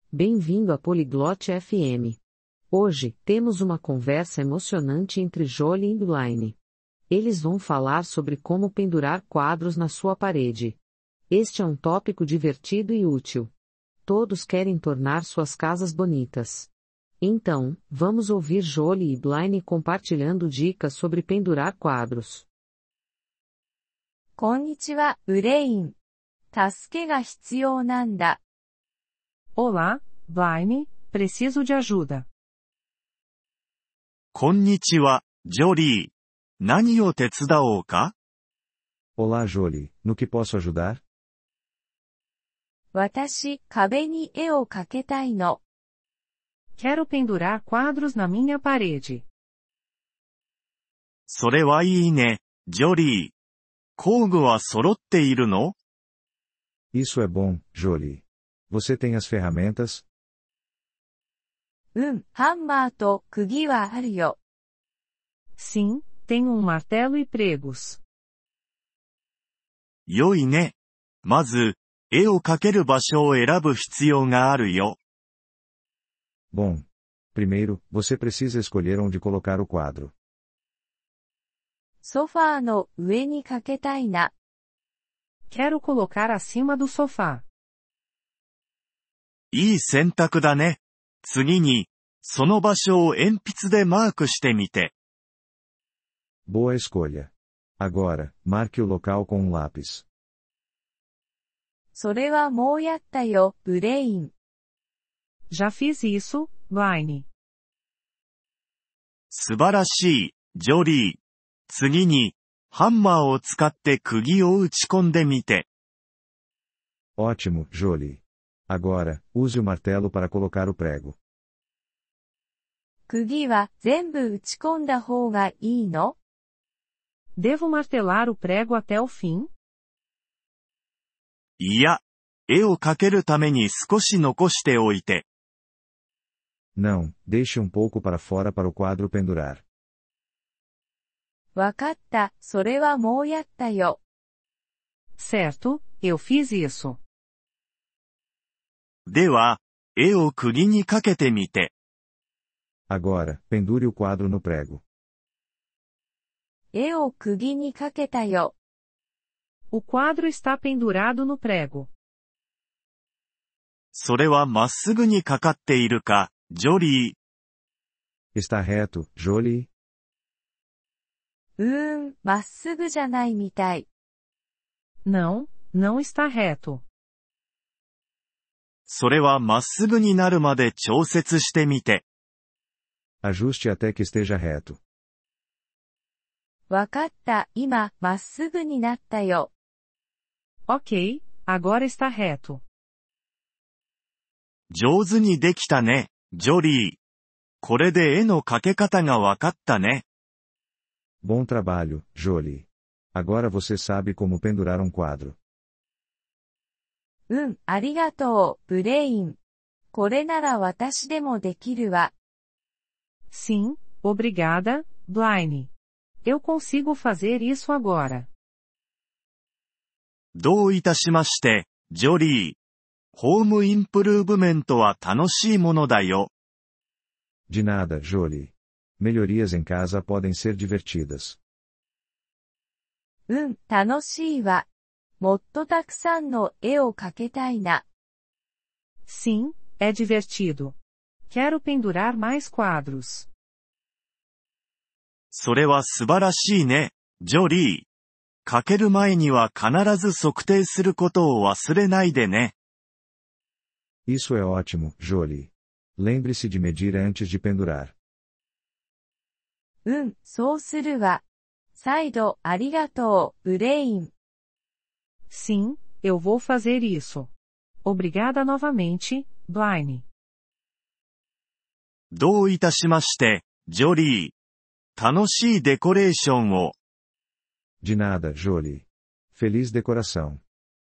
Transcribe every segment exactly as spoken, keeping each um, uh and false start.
Bem-vindo a Poliglote F M. Hoje, temos uma conversa emocionante entre Jolie e Blaine. Eles vão falar sobre como pendurar quadros na sua parede. Este é um tópico divertido e útil. Todos querem tornar suas casas bonitas. Então, vamos ouvir Jolie e Blaine compartilhando dicas sobre pendurar quadros. こんにちは、ブレイン。助けが必要なんだ。 Olá, Blaine, preciso de ajuda. こんにちは、ジョリー。何を手伝おうか？ Olá, Jolie, no que posso ajudar? 私、壁に絵を描けたいの。 Quero pendurar quadros na minha parede. それはいいね、ジョリー。工具は揃っているの？ Isso é bom, Jolie. Você tem as ferramentas? うん、ハンマーと釘はあるよ。 Sim, tenho um martelo e pregos. 良いね。まず、絵を描ける場所を選ぶ必要があるよ。 Bom. Primeiro, você precisa escolher onde colocar o quadro. ソファーの上に描けたいな。 Quero colocar acima do sofá. いい選択だね。次に、その場所を鉛筆でマークしてみて。 Boa escolha. Agora, marque o local com um lápis. それはもうやったよ、ブレイン。 Já fiz isso, Blaine. 素晴らしい、ジョリー。次に、ハンマーを使って釘を打ち込んでみて。 Ótimo, Jolie. Agora, use o martelo para colocar o prego. 釘は全部打ち込んだ方がいいの？ Devo martelar o prego até o fim? いや、絵を描けるために少し残しておいて。 Não, deixe um pouco para fora para o quadro pendurar. わかった、それはもうやったよ。 Certo, eu fiz isso. では、絵を釘にかけてみて。 Agora, pendure o quadro no prego. 絵を釘にかけたよ。 O quadro está pendurado no prego. それはまっすぐにかかっているか、ジョリー。 Está reto, Jolie? うーん、まっすぐじゃないみたい。 Não, não está reto. それはまっすぐになるまで調節してみて。 Ajuste até que esteja reto. わかった、今、まっすぐになったよ。 Ok, agora está reto. 上手にできたね、ジョリー。これで絵の描け方がわかったね。 Bom trabalho, Jolie. Agora você sabe como pendurar um quadro. うん、ありがとう、ブレイン。これなら私でもできるわ。 Sim, obrigada, Blaine. Eu consigo fazer isso agora. どういたしまして、ジョリー。ホームインプルーブメントは楽しいものだよ。 De nada, Jolie. Melhorias em casa podem ser divertidas. うん、楽しいわ。もっとたくさんの絵を描けたいな。 Sim, é divertido. Quero pendurar mais quadros. それは素晴らしいね、ジョリー。描ける前には必ず測定することを忘れないでね。 Isso é ótimo, Jolie. Lembre-se de medir antes de pendurar. うん、そうするわ。再度ありがとう、ブレイン。 Sim, eu vou fazer isso. Obrigada novamente, Blaine. どういたしまして、ジョリー。楽しいデコレーションを。 De nada, Jolie. Feliz decoração.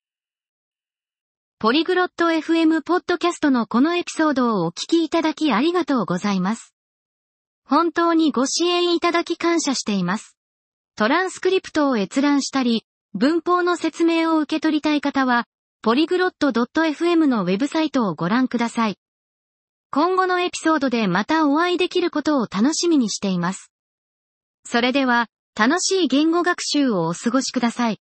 ポリグロット エフエム ポッドキャストのこのエピソードをお聞きいただきありがとうございます。本当にご支援いただき感謝しています。トランスクリプトを閲覧したり、文法の説明を受け取りたい方は、ポリグロット ドット エフエム のウェブサイトをご覧ください。 今後のエピソードでまたお会いできることを楽しみにしています。それでは、楽しい言語学習をお過ごしください。